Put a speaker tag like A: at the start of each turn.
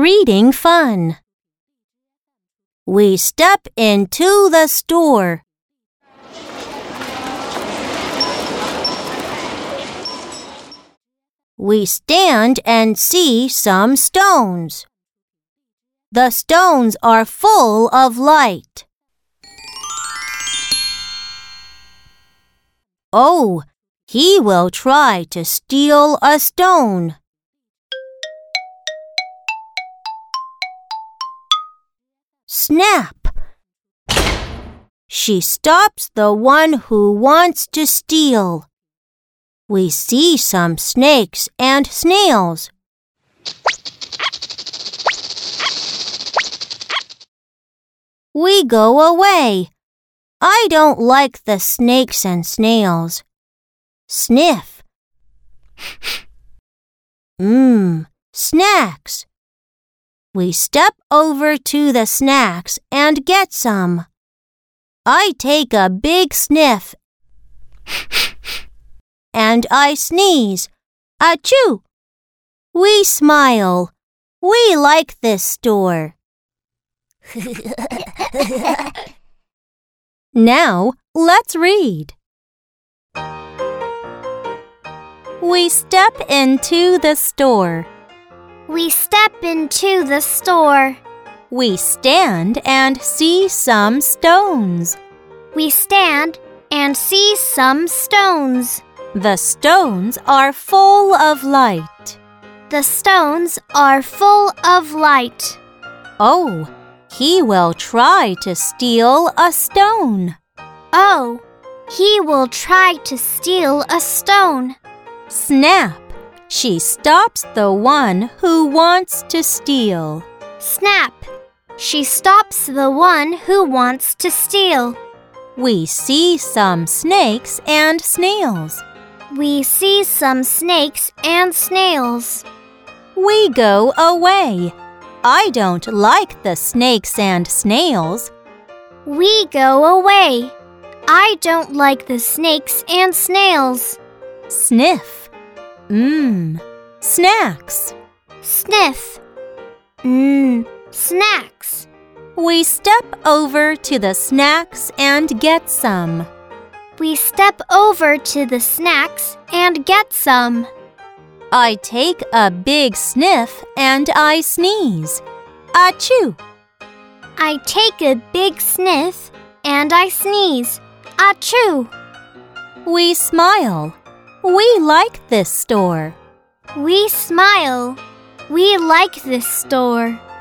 A: reading fun. We step into the store. We stand and see some stones. The stones are full of light. Oh, he will try to steal a stone. Snap! She stops the one who wants to steal. We see some snakes and snails. We go away. I don't like the snakes and snails. Sniff. Snacks. We step over to the snacks and get some. I take a big sniff and I sneeze. Achoo! We smile. We like this store. Now, let's read. We step into the store.
B: We step into the store.
A: We stand and see some stones.
B: We stand and see some stones.
A: The stones are full of light.
B: The stones are full of light.
A: Oh, he will try to steal a stone.
B: Oh, he will try to steal a stone.
A: Snap! She stops the one who wants to steal.
B: Snap! She stops the one who wants to steal.
A: We see some snakes and snails.
B: We see some snakes and snails.
A: We go away. I don't like the snakes and snails.
B: We go away. I don't like the snakes and snails.
A: Sniff. Snacks.
B: Sniff. Snacks.
A: We step over to the snacks and get some.
B: We step over to the snacks and get some.
A: I take a big sniff and I sneeze. Achoo!
B: I take a big sniff and I sneeze. Achoo!
A: We smile. We like this store.
B: We smile. We like this store.